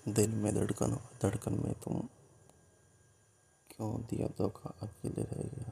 दिल में धड़कन हो, धड़कन में तुम क्यों दिया धोखा, अकेले रह गए।